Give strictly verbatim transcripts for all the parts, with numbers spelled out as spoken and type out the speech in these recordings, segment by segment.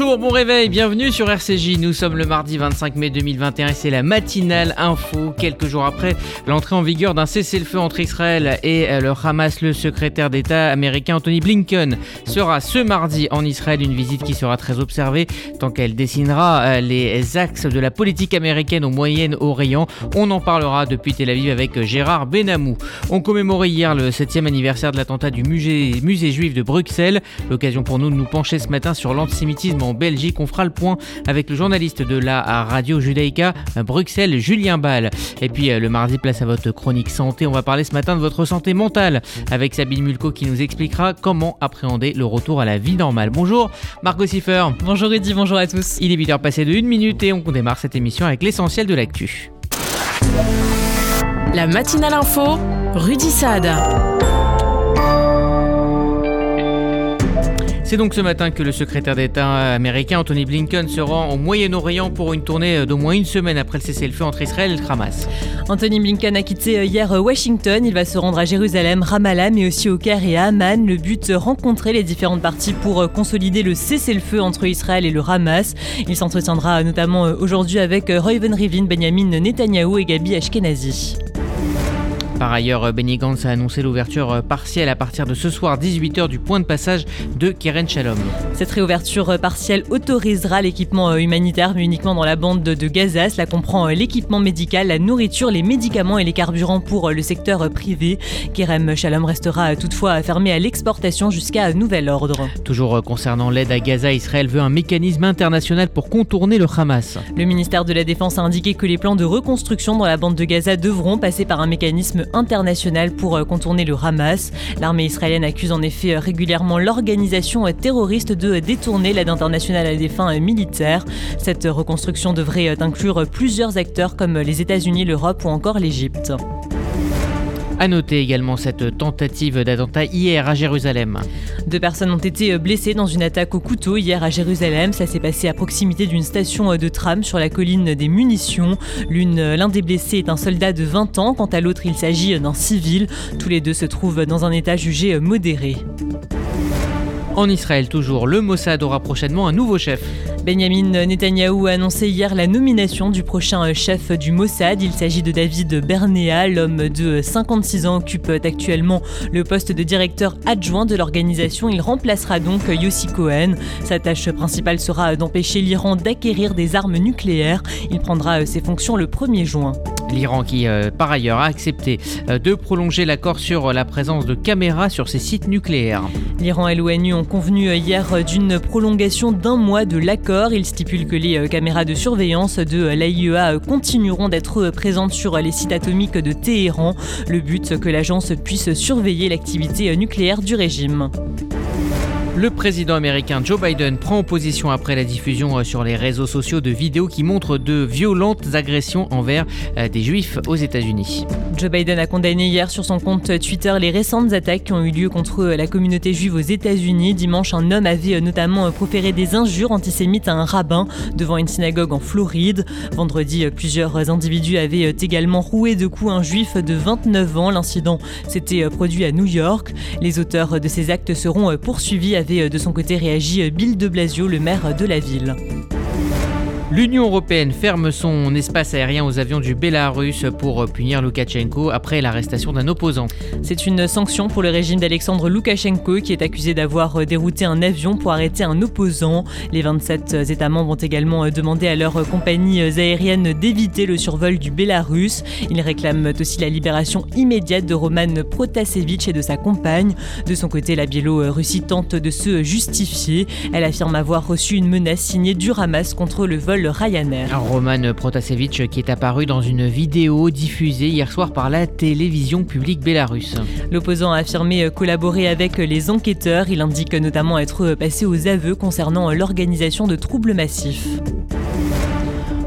Bonjour, bon réveil, bienvenue sur R C J. Nous sommes le mardi vingt-cinq mai deux mille vingt et un et c'est la matinale info. Quelques jours après l'entrée en vigueur d'un cessez-le-feu entre Israël et le Hamas, le secrétaire d'État américain Antony Blinken sera ce mardi en Israël, une visite qui sera très observée tant qu'elle dessinera les axes de la politique américaine au Moyen-Orient. On en parlera depuis Tel Aviv avec Gérard Benamou. On commémorait hier le septième anniversaire de l'attentat du musée, musée juif de Bruxelles. L'occasion pour nous de nous pencher ce matin sur l'antisémitisme en Belgique. On fera le point avec le journaliste de la radio Judaïka Bruxelles, Julien Ball. Et puis le mardi, place à votre chronique santé. On va parler ce matin de votre santé mentale avec Sabine Mulco qui nous expliquera comment appréhender le retour à la vie normale. Bonjour Margot Siffer. Bonjour Rudy, bonjour à tous. Il est huit heures passées de une minute et on démarre cette émission avec l'essentiel de l'actu. La matinale info, Rudy Saad. C'est donc ce matin que le secrétaire d'État américain Antony Blinken se rend au Moyen-Orient pour une tournée d'au moins une semaine après le cessez-le-feu entre Israël et le Hamas. Antony Blinken a quitté hier Washington. Il va se rendre à Jérusalem, Ramallah, mais aussi au Caire et à Amman. Le but, rencontrer les différentes parties pour consolider le cessez-le-feu entre Israël et le Hamas. Il s'entretiendra notamment aujourd'hui avec Reuven Rivlin, Benjamin Netanyahou et Gabi Ashkenazi. Par ailleurs, Benny Gantz a annoncé l'ouverture partielle à partir de ce soir dix-huit heures du point de passage de Kerem Shalom. Cette réouverture partielle autorisera l'équipement humanitaire, mais uniquement dans la bande de Gaza. Cela comprend l'équipement médical, la nourriture, les médicaments et les carburants pour le secteur privé. Kerem Shalom restera toutefois fermé à l'exportation jusqu'à nouvel ordre. Toujours concernant l'aide à Gaza, Israël veut un mécanisme international pour contourner le Hamas. Le ministère de la Défense a indiqué que les plans de reconstruction dans la bande de Gaza devront passer par un mécanisme international pour contourner le Hamas. L'armée israélienne accuse en effet régulièrement l'organisation terroriste de détourner l'aide internationale à des fins militaires. Cette reconstruction devrait inclure plusieurs acteurs comme les États-Unis, l'Europe ou encore l'Égypte. A noter également cette tentative d'attentat hier à Jérusalem. Deux personnes ont été blessées dans une attaque au couteau hier à Jérusalem. Ça s'est passé à proximité d'une station de tram sur la colline des munitions. L'une, l'un des blessés est un soldat de vingt ans. Quant à l'autre, il s'agit d'un civil. Tous les deux se trouvent dans un état jugé modéré. En Israël toujours, le Mossad aura prochainement un nouveau chef. Benjamin Netanyahou a annoncé hier la nomination du prochain chef du Mossad. Il s'agit de David Bernea. L'homme de cinquante-six ans occupe actuellement le poste de directeur adjoint de l'organisation. Il remplacera donc Yossi Cohen. Sa tâche principale sera d'empêcher l'Iran d'acquérir des armes nucléaires. Il prendra ses fonctions le premier juin. L'Iran qui, euh, par ailleurs, a accepté euh, de prolonger l'accord sur la présence de caméras sur ses sites nucléaires. L'Iran et l'ONU ont convenu hier d'une prolongation d'un mois de l'accord. Il stipule que les caméras de surveillance de l'A I E A continueront d'être présentes sur les sites atomiques de Téhéran. Le but, que l'agence puisse surveiller l'activité nucléaire du régime. Le président américain Joe Biden prend position après la diffusion sur les réseaux sociaux de vidéos qui montrent de violentes agressions envers des juifs aux États-Unis. Joe Biden a condamné hier sur son compte Twitter les récentes attaques qui ont eu lieu contre la communauté juive aux États-Unis. Dimanche, un homme avait notamment proféré des injures antisémites à un rabbin devant une synagogue en Floride. Vendredi, plusieurs individus avaient également roué de coups un juif de vingt-neuf ans. L'incident s'était produit à New York. Les auteurs de ces actes seront poursuivis, avait de son côté réagi Bill de Blasio, le maire de la ville. L'Union européenne ferme son espace aérien aux avions du Bélarus pour punir Loukachenko après l'arrestation d'un opposant. C'est une sanction pour le régime d'Alexandre Loukachenko qui est accusé d'avoir dérouté un avion pour arrêter un opposant. Les vingt-sept États membres ont également demandé à leurs compagnies aériennes d'éviter le survol du Bélarus. Ils réclament aussi la libération immédiate de Roman Protasevich et de sa compagne. De son côté, la Biélorussie tente de se justifier. Elle affirme avoir reçu une menace signée du Hamas contre le vol Ryanair. Roman Protasevich qui est apparu dans une vidéo diffusée hier soir par la télévision publique bélarusse. L'opposant a affirmé collaborer avec les enquêteurs. Il indique notamment être passé aux aveux concernant l'organisation de troubles massifs.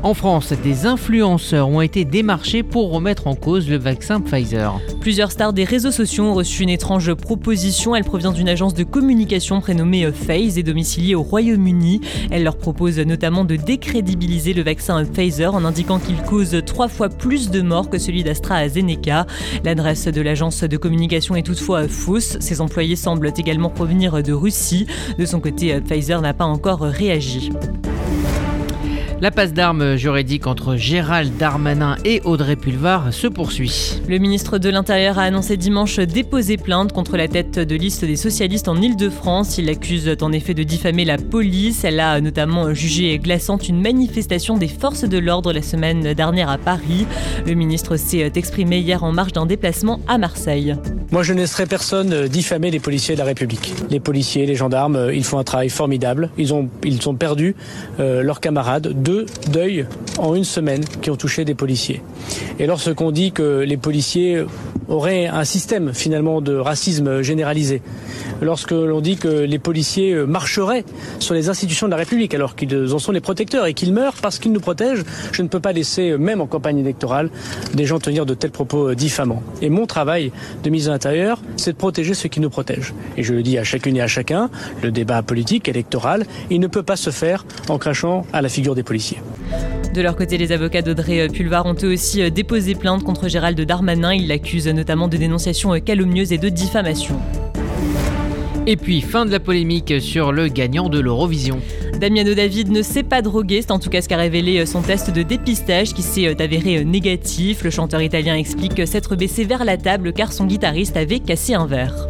En France, des influenceurs ont été démarchés pour remettre en cause le vaccin Pfizer. Plusieurs stars des réseaux sociaux ont reçu une étrange proposition. Elle provient d'une agence de communication prénommée Phase et domiciliée au Royaume-Uni. Elle leur propose notamment de décrédibiliser le vaccin Pfizer en indiquant qu'il cause trois fois plus de morts que celui d'AstraZeneca. L'adresse de l'agence de communication est toutefois fausse. Ses employés semblent également provenir de Russie. De son côté, Pfizer n'a pas encore réagi. La passe d'armes juridique entre Gérald Darmanin et Audrey Pulvar se poursuit. Le ministre de l'Intérieur a annoncé dimanche déposer plainte contre la tête de liste des socialistes en Île-de-France. Il l'accuse en effet de diffamer la police. Elle a notamment jugé glaçante une manifestation des forces de l'ordre la semaine dernière à Paris. Le ministre s'est exprimé hier en marge d'un déplacement à Marseille. Moi, je ne laisserai personne diffamer les policiers de la République. Les policiers, les gendarmes, ils font un travail formidable. Ils ont, ils ont perdu euh, leurs camarades. Deux deuils en une semaine qui ont touché des policiers. Et lorsqu'on dit que les policiers auraient un système finalement de racisme généralisé, lorsque l'on dit que les policiers marcheraient sur les institutions de la République alors qu'ils en sont les protecteurs et qu'ils meurent parce qu'ils nous protègent, je ne peux pas laisser, même en campagne électorale, des gens tenir de tels propos diffamants. Et mon travail de ministre de l'Intérieur, c'est de protéger ceux qui nous protègent. Et je le dis à chacune et à chacun, le débat politique, électoral, il ne peut pas se faire en crachant à la figure des policiers. De leur côté, les avocats d'Audrey Pulvar ont eux aussi déposé plainte contre Gérald Darmanin. Ils l'accusent notamment de dénonciation calomnieuse et de diffamation. Et puis, fin de la polémique sur le gagnant de l'Eurovision. Damiano David ne s'est pas drogué, c'est en tout cas ce qu'a révélé son test de dépistage qui s'est avéré négatif. Le chanteur italien explique s'être baissé vers la table car son guitariste avait cassé un verre.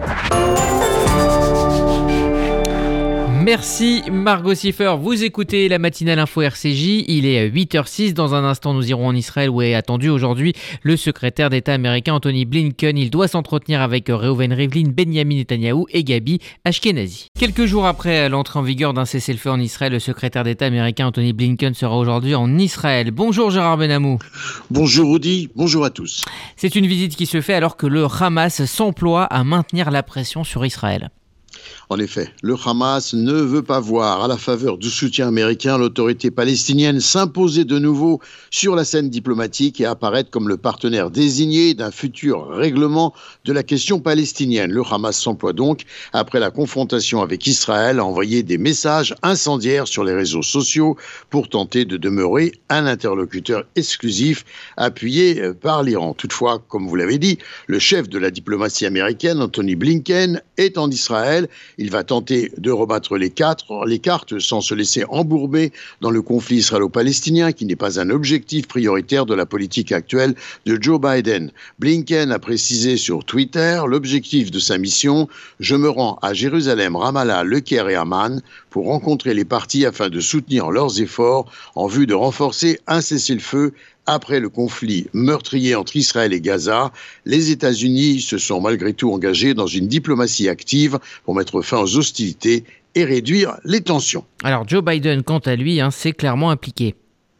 Merci Margot Siffer, vous écoutez la matinale info R C J, il est huit heures zéro six, dans un instant nous irons en Israël où est attendu aujourd'hui le secrétaire d'État américain Anthony Blinken. Il doit s'entretenir avec Reuven Rivlin, Benjamin Netanyahou et Gabi Ashkenazi. Quelques jours après l'entrée en vigueur d'un cessez-le-feu en Israël, le secrétaire d'État américain Anthony Blinken sera aujourd'hui en Israël. Bonjour Gérard Benamou. Bonjour Rudy, bonjour à tous. C'est une visite qui se fait alors que le Hamas s'emploie à maintenir la pression sur Israël. En effet, le Hamas ne veut pas voir, à la faveur du soutien américain, l'autorité palestinienne s'imposer de nouveau sur la scène diplomatique et apparaître comme le partenaire désigné d'un futur règlement de la question palestinienne. Le Hamas s'emploie donc, après la confrontation avec Israël, à envoyer des messages incendiaires sur les réseaux sociaux pour tenter de demeurer un interlocuteur exclusif appuyé par l'Iran. Toutefois, comme vous l'avez dit, le chef de la diplomatie américaine, Anthony Blinken, est en Israël. Il va tenter de rebattre les, quatre, les cartes sans se laisser embourber dans le conflit israélo-palestinien qui n'est pas un objectif prioritaire de la politique actuelle de Joe Biden. Blinken a précisé sur Twitter l'objectif de sa mission « Je me rends à Jérusalem, Ramallah, Le Caire et Amman pour rencontrer les parties afin de soutenir leurs efforts en vue de renforcer un cessez-le-feu ». Après le conflit meurtrier entre Israël et Gaza, les États-Unis se sont malgré tout engagés dans une diplomatie active pour mettre fin aux hostilités et réduire les tensions. Alors Joe Biden, quant à lui, hein, s'est clairement impliqué.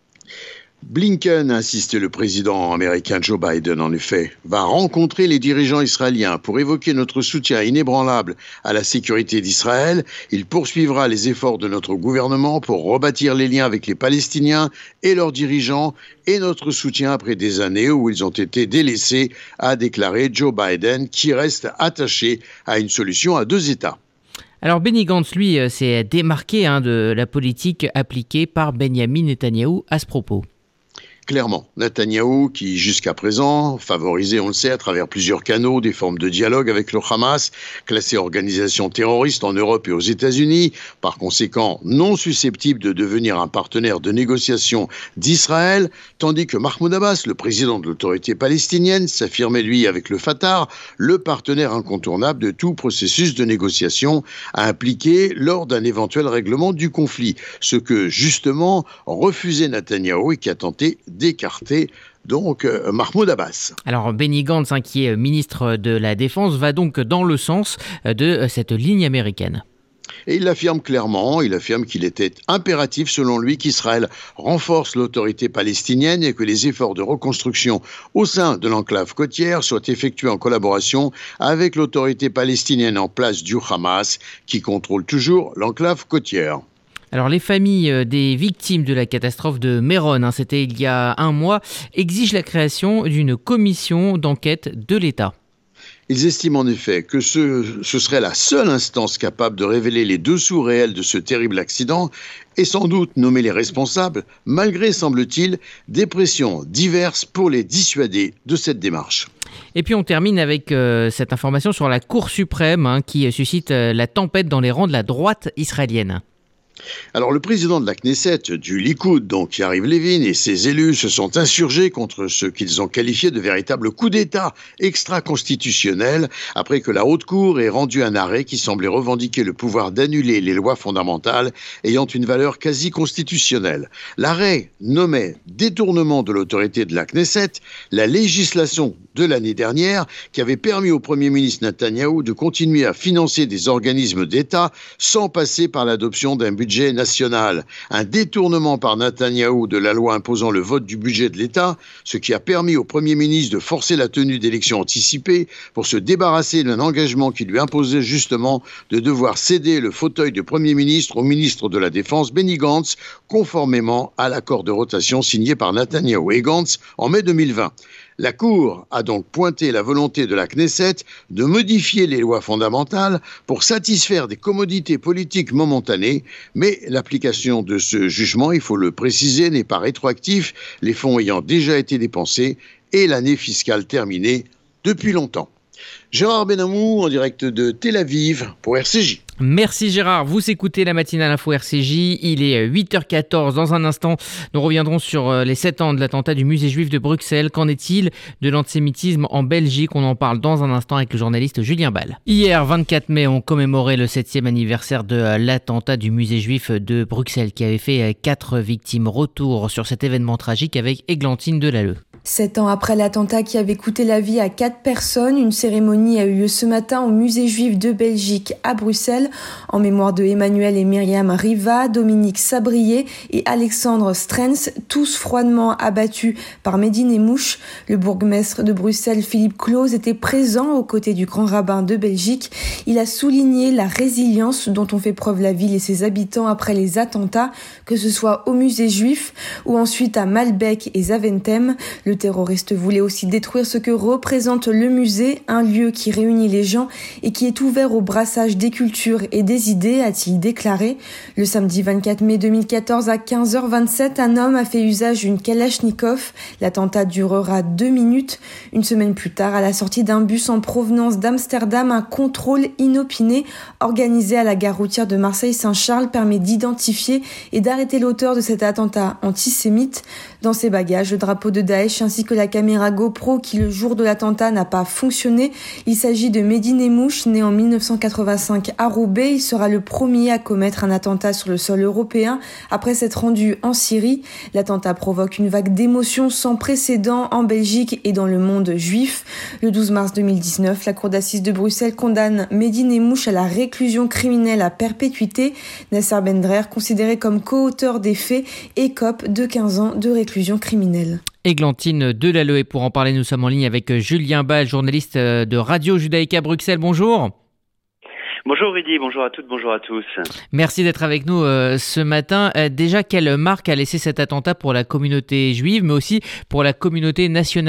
Blinken, insiste le président américain Joe Biden, en effet, va rencontrer les dirigeants israéliens pour évoquer notre soutien inébranlable à la sécurité d'Israël. Il poursuivra les efforts de notre gouvernement pour rebâtir les liens avec les Palestiniens et leurs dirigeants et notre soutien après des années où ils ont été délaissés, a déclaré Joe Biden, qui reste attaché à une solution à deux États. Alors Benny Gantz, lui, s'est démarqué hein, de la politique appliquée par Benjamin Netanyahou à ce propos. Clairement, Netanyahou, qui jusqu'à présent favorisait, on le sait, à travers plusieurs canaux, des formes de dialogue avec le Hamas, classé organisation terroriste en Europe et aux États-Unis, par conséquent non susceptible de devenir un partenaire de négociation d'Israël, tandis que Mahmoud Abbas, le président de l'autorité palestinienne, s'affirmait lui avec le Fatah, le partenaire incontournable de tout processus de négociation à impliquer lors d'un éventuel règlement du conflit, ce que justement refusait Netanyahou et qui a tenté d'écarter donc euh, Mahmoud Abbas. Alors Benny Gantz, hein, qui est ministre de la Défense, va donc dans le sens de cette ligne américaine. Et il l'affirme clairement, il affirme qu'il était impératif selon lui qu'Israël renforce l'autorité palestinienne et que les efforts de reconstruction au sein de l'enclave côtière soient effectués en collaboration avec l'autorité palestinienne en place du Hamas qui contrôle toujours l'enclave côtière. Alors les familles des victimes de la catastrophe de Méron, hein, c'était il y a un mois, exigent la création d'une commission d'enquête de l'État. Ils estiment en effet que ce, ce serait la seule instance capable de révéler les dessous réels de ce terrible accident et sans doute nommer les responsables, malgré, semble-t-il, des pressions diverses pour les dissuader de cette démarche. Et puis on termine avec euh, cette information sur la Cour suprême hein, qui suscite euh, la tempête dans les rangs de la droite israélienne. Alors le président de la Knesset, du Likoud, donc Yariv Levin, et ses élus se sont insurgés contre ce qu'ils ont qualifié de véritable coup d'État extra-constitutionnel après que la Haute Cour ait rendu un arrêt qui semblait revendiquer le pouvoir d'annuler les lois fondamentales ayant une valeur quasi constitutionnelle. L'arrêt nommait détournement de l'autorité de la Knesset la législation de l'année dernière qui avait permis au Premier ministre Netanyahou de continuer à financer des organismes d'État sans passer par l'adoption d'un budget budget national, un détournement par Netanyahou de la loi imposant le vote du budget de l'État, ce qui a permis au Premier ministre de forcer la tenue d'élections anticipées pour se débarrasser d'un engagement qui lui imposait justement de devoir céder le fauteuil de Premier ministre au ministre de la Défense Benny Gantz, conformément à l'accord de rotation signé par Netanyahou et Gantz en mai deux mille vingt. La Cour a donc pointé la volonté de la Knesset de modifier les lois fondamentales pour satisfaire des commodités politiques momentanées, mais l'application de ce jugement, il faut le préciser, n'est pas rétroactif, les fonds ayant déjà été dépensés et l'année fiscale terminée depuis longtemps. Gérard Benamou en direct de Tel Aviv pour R C J. Merci Gérard, vous écoutez la matinale info R C J, il est huit heures quatorze. Dans un instant, nous reviendrons sur les sept ans de l'attentat du musée juif de Bruxelles. Qu'en est-il de l'antisémitisme en Belgique? On en parle dans un instant avec le journaliste Julien Ball. Hier, vingt-quatre mai, on commémorait le septième anniversaire de l'attentat du musée juif de Bruxelles qui avait fait quatre victimes. Retour sur cet événement tragique avec Églantine Delalleux. Sept ans après l'attentat qui avait coûté la vie à quatre personnes, une cérémonie a eu lieu ce matin au musée juif de Belgique à Bruxelles en mémoire de Emmanuel et Myriam Riva, Dominique Sabrier et Alexandre Strens, tous froidement abattus par Mehdi Nemmouche. Le bourgmestre de Bruxelles, Philippe Claus, était présent aux côtés du grand rabbin de Belgique. Il a souligné la résilience dont ont fait preuve la ville et ses habitants après les attentats, que ce soit au musée juif ou ensuite à Malbec et Zaventem. Le terroriste voulait aussi détruire ce que représente le musée, un lieu qui réunit les gens et qui est ouvert au brassage des cultures et des idées, a-t-il déclaré. Le samedi vingt-quatre mai deux mille quatorze à quinze heures vingt-sept, un homme a fait usage d'une Kalachnikov. L'attentat durera deux minutes. Une semaine plus tard, à la sortie d'un bus en provenance d'Amsterdam, un contrôle inopiné organisé à la gare routière de Marseille-Saint-Charles permet d'identifier et d'arrêter l'auteur de cet attentat antisémite. Dans ses bagages, le drapeau de Daesh ainsi que la caméra GoPro qui, le jour de l'attentat, n'a pas fonctionné. Il s'agit de Mehdi Nemmouche, né en mille neuf cent quatre-vingt-cinq à Roubaix. Il sera le premier à commettre un attentat sur le sol européen après s'être rendu en Syrie. L'attentat provoque une vague d'émotions sans précédent en Belgique et dans le monde juif. Le douze mars deux mille dix-neuf, la Cour d'assises de Bruxelles condamne Mehdi Nemmouche à la réclusion criminelle à perpétuité. Nasser Bendrer, considéré comme co-auteur des faits, écope de quinze ans de réclusion criminelle. Églantine Delalleux, et pour en parler, nous sommes en ligne avec Julien Ball, journaliste de Radio Judaïka Bruxelles. Bonjour. Bonjour Rudy, bonjour à toutes, bonjour à tous. Merci d'être avec nous euh, ce matin. Euh, déjà, quelle marque a laissé cet attentat pour la communauté juive, mais aussi pour la communauté nationale ?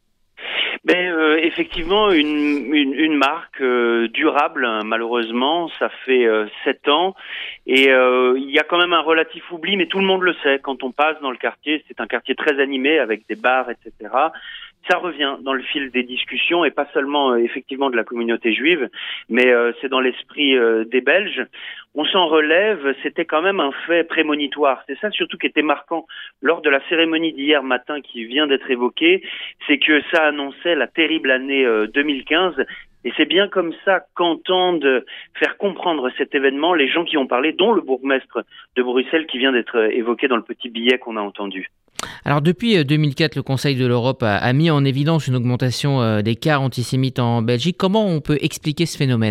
Ben, euh, effectivement, une, une, une marque euh, durable, hein, malheureusement, ça fait euh, sept ans, et euh, il y a quand même un relatif oubli, mais tout le monde le sait, quand on passe dans le quartier, c'est un quartier très animé, avec des bars, et cetera, ça revient dans le fil des discussions, et pas seulement euh, effectivement de la communauté juive, mais euh, c'est dans l'esprit euh, des Belges. On s'en relève, c'était quand même un fait prémonitoire. C'est ça surtout qui était marquant lors de la cérémonie d'hier matin qui vient d'être évoquée, c'est que ça annonçait la terrible année euh, deux mille quinze. Et c'est bien comme ça qu'entendent faire comprendre cet événement les gens qui ont parlé, dont le bourgmestre de Bruxelles qui vient d'être évoqué dans le petit billet qu'on a entendu. Alors depuis deux mille quatre, le Conseil de l'Europe a, a mis en évidence une augmentation euh, des cas antisémites en Belgique. Comment on peut expliquer ce phénomène ?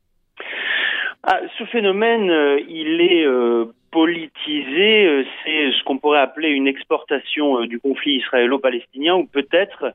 Ah, ce phénomène, euh, il est euh, politisé, euh, c'est ce qu'on pourrait appeler une exportation euh, du conflit israélo-palestinien ou peut-être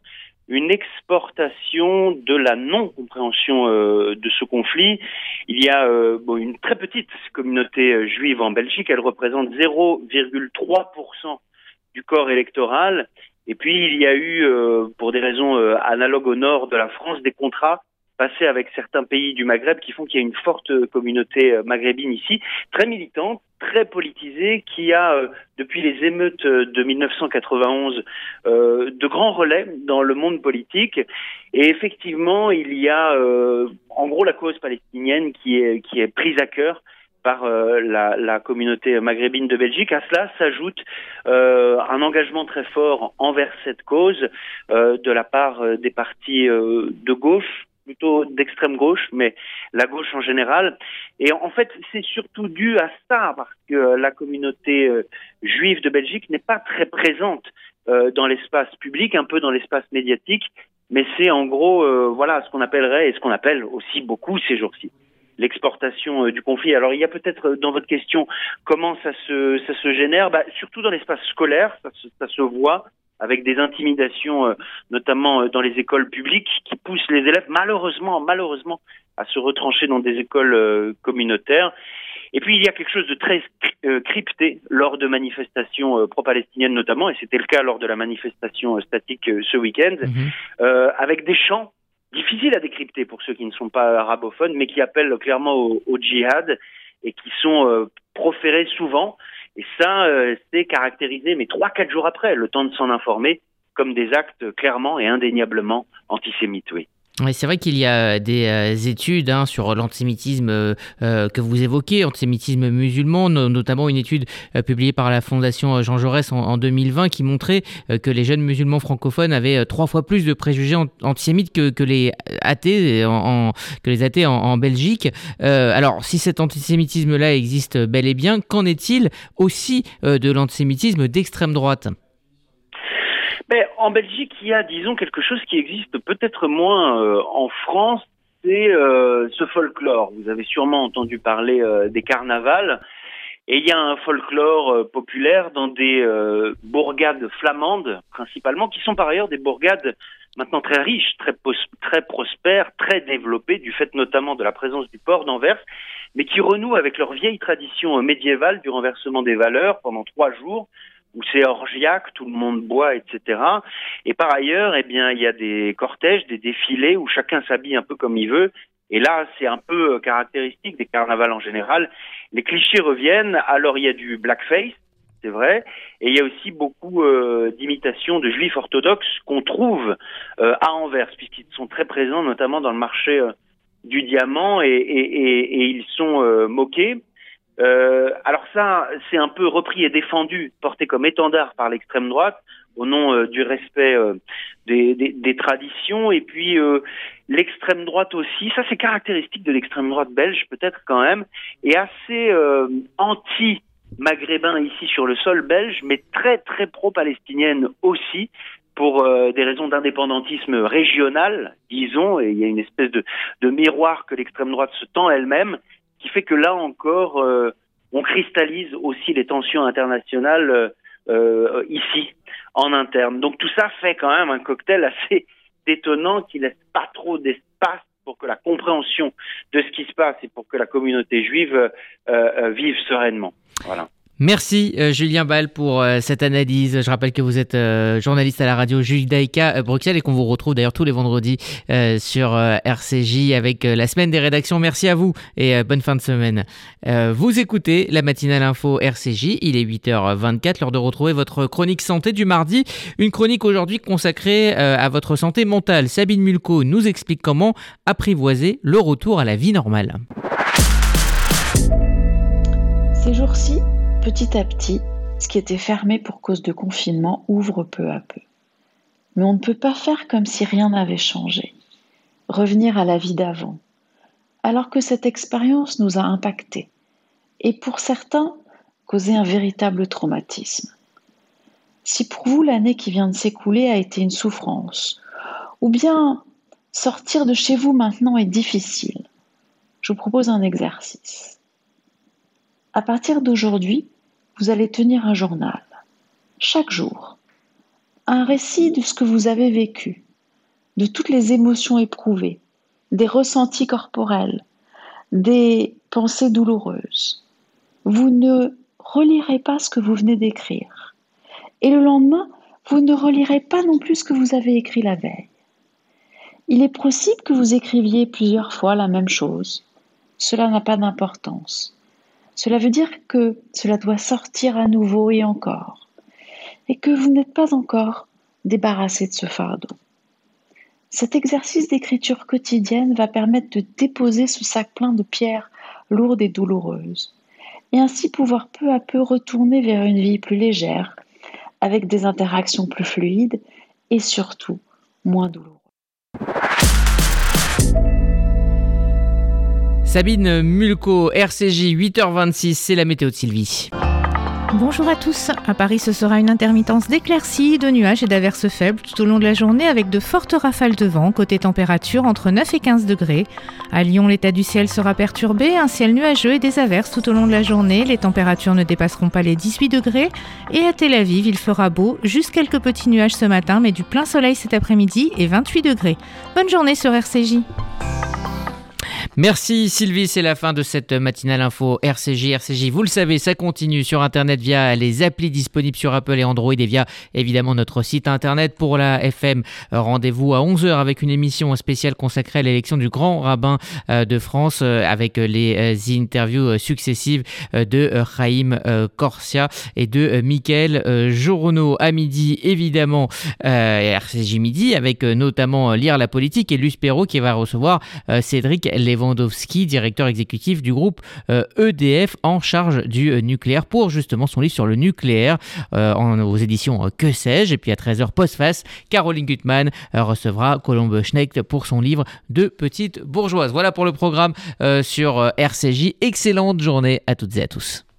une exportation de la non-compréhension euh, de ce conflit. Il y a euh, bon, une très petite communauté euh, juive en Belgique, elle représente zéro virgule trois pour cent du corps électoral. Et puis il y a eu, euh, pour des raisons euh, analogues au nord de la France, des contrats passés avec certains pays du Maghreb qui font qu'il y a une forte communauté euh, maghrébine ici, très militante, très politisée, qui a, euh, depuis les émeutes de mille neuf cent quatre-vingt-onze, euh, de grands relais dans le monde politique. Et effectivement, il y a euh, en gros la cause palestinienne qui est, qui est prise à cœur par euh, la, la communauté maghrébine de Belgique. À cela s'ajoute euh, un engagement très fort envers cette cause euh, de la part euh, des partis euh, de gauche, plutôt d'extrême gauche, mais la gauche en général. Et en fait, c'est surtout dû à ça, parce que la communauté euh, juive de Belgique n'est pas très présente euh, dans l'espace public, un peu dans l'espace médiatique, mais c'est en gros, euh, voilà, ce qu'on appellerait, et ce qu'on appelle aussi beaucoup ces jours-ci, l'exportation euh, du conflit. Alors, il y a peut-être euh, dans votre question, comment ça se, ça se génère, bah, surtout dans l'espace scolaire, ça se, ça se voit, avec des intimidations, euh, notamment euh, dans les écoles publiques, qui poussent les élèves, malheureusement, malheureusement, à se retrancher dans des écoles euh, communautaires. Et puis, il y a quelque chose de très euh, crypté lors de manifestations euh, pro-palestiniennes notamment, et c'était le cas lors de la manifestation euh, statique euh, ce week-end, mmh. euh, avec des chants difficiles à décrypter pour ceux qui ne sont pas arabophones, mais qui appellent clairement au, au djihad, et qui sont euh, proférés souvent. Et ça, euh, c'est caractérisé, mais trois, quatre jours après, le temps de s'en informer, comme des actes clairement et indéniablement antisémites, oui. Oui, c'est vrai qu'il y a des euh, études hein, sur l'antisémitisme euh, que vous évoquez, antisémitisme musulman, no- notamment une étude euh, publiée par la Fondation Jean Jaurès en, en deux mille vingt qui montrait euh, que les jeunes musulmans francophones avaient euh, trois fois plus de préjugés an- antisémites que, que les athées en, en, que les athées en, en Belgique. Euh, alors, si cet antisémitisme-là existe bel et bien, qu'en est-il aussi euh, de l'antisémitisme d'extrême droite ? Mais en Belgique, il y a, disons, quelque chose qui existe peut-être moins euh, en France, c'est euh, ce folklore. Vous avez sûrement entendu parler euh, des carnavals, et il y a un folklore euh, populaire dans des euh, bourgades flamandes, principalement, qui sont par ailleurs des bourgades maintenant très riches, très, pos- très prospères, très développées, du fait notamment de la présence du port d'Anvers, mais qui renouent avec leur vieille tradition euh, médiévale du renversement des valeurs pendant trois jours, où c'est orgiaque, tout le monde boit, et cetera. Et par ailleurs, eh bien, il y a des cortèges, des défilés où chacun s'habille un peu comme il veut. Et là, c'est un peu caractéristique des carnavals en général. Les clichés reviennent. Alors, il y a du blackface, c'est vrai. Et il y a aussi beaucoup euh, d'imitations de juifs orthodoxes qu'on trouve euh, à Anvers, puisqu'ils sont très présents, notamment dans le marché euh, du diamant, et, et, et, et ils sont euh, moqués. Euh, alors ça, c'est un peu repris et défendu, porté comme étendard par l'extrême droite, au nom euh, du respect euh, des, des, des traditions. Et puis euh, l'extrême droite aussi, ça c'est caractéristique de l'extrême droite belge peut-être quand même, est assez euh, anti-maghrébin ici sur le sol belge, mais très très pro-palestinienne aussi, pour euh, des raisons d'indépendantisme régional, disons, et il y a une espèce de, de miroir que l'extrême droite se tend elle-même, qui fait que là encore, euh, on cristallise aussi les tensions internationales euh, euh, ici, en interne. Donc tout ça fait quand même un cocktail assez étonnant qui laisse pas trop d'espace pour que la compréhension de ce qui se passe et pour que la communauté juive euh, euh, vive sereinement. Voilà. Merci euh, Julien Bal pour euh, cette analyse. Je rappelle que vous êtes euh, journaliste à la radio Judaïka euh, Bruxelles et qu'on vous retrouve d'ailleurs tous les vendredis euh, sur euh, R C J avec euh, la semaine des rédactions. Merci à vous et euh, bonne fin de semaine. Euh, vous écoutez la matinale info R C J, il est huit heures vingt-quatre, l'heure de retrouver votre chronique santé du mardi. Une chronique aujourd'hui consacrée euh, à votre santé mentale. Sabine Mulco nous explique comment apprivoiser le retour à la vie normale. Ces jours-ci, petit à petit, ce qui était fermé pour cause de confinement ouvre peu à peu. Mais on ne peut pas faire comme si rien n'avait changé, revenir à la vie d'avant, alors que cette expérience nous a impactés et pour certains, causé un véritable traumatisme. Si pour vous l'année qui vient de s'écouler a été une souffrance, ou bien sortir de chez vous maintenant est difficile, je vous propose un exercice. À partir d'aujourd'hui, vous allez tenir un journal, chaque jour, un récit de ce que vous avez vécu, de toutes les émotions éprouvées, des ressentis corporels, des pensées douloureuses. Vous ne relirez pas ce que vous venez d'écrire. Et le lendemain, vous ne relirez pas non plus ce que vous avez écrit la veille. Il est possible que vous écriviez plusieurs fois la même chose. Cela n'a pas d'importance. Cela veut dire que cela doit sortir à nouveau et encore, et que vous n'êtes pas encore débarrassé de ce fardeau. Cet exercice d'écriture quotidienne va permettre de déposer ce sac plein de pierres lourdes et douloureuses, et ainsi pouvoir peu à peu retourner vers une vie plus légère, avec des interactions plus fluides et surtout moins douloureuses. Sabine Mulco, R C J, huit heures vingt-six, c'est la météo de Sylvie. Bonjour à tous. À Paris, ce sera une intermittence d'éclaircies, de nuages et d'averses faibles tout au long de la journée avec de fortes rafales de vent. Côté température, entre neuf et quinze degrés. À Lyon, l'état du ciel sera perturbé, un ciel nuageux et des averses tout au long de la journée. Les températures ne dépasseront pas les dix-huit degrés. Et à Tel Aviv, il fera beau, juste quelques petits nuages ce matin, mais du plein soleil cet après-midi et vingt-huit degrés. Bonne journée sur R C J. Merci Sylvie, c'est la fin de cette matinale info R C J. R C J, vous le savez, ça continue sur Internet via les applis disponibles sur Apple et Android et via évidemment notre site Internet. Pour la F M, rendez-vous à onze heures avec une émission spéciale consacrée à l'élection du grand rabbin de France avec les interviews successives de Chaim Corsia et de Mickaël Journeau. À midi, évidemment, R C J Midi avec notamment Lire la politique et Luce Perrault qui va recevoir Cédric Lewandowski, directeur exécutif du groupe euh, E D F en charge du euh, nucléaire pour justement son livre sur le nucléaire euh, en, aux éditions euh, Que sais-je. Et puis à treize heures post-face, Caroline Gutmann euh, recevra Colombe Schnecht pour son livre de Petite bourgeoise. Voilà pour le programme euh, sur euh, R C J. Excellente journée à toutes et à tous.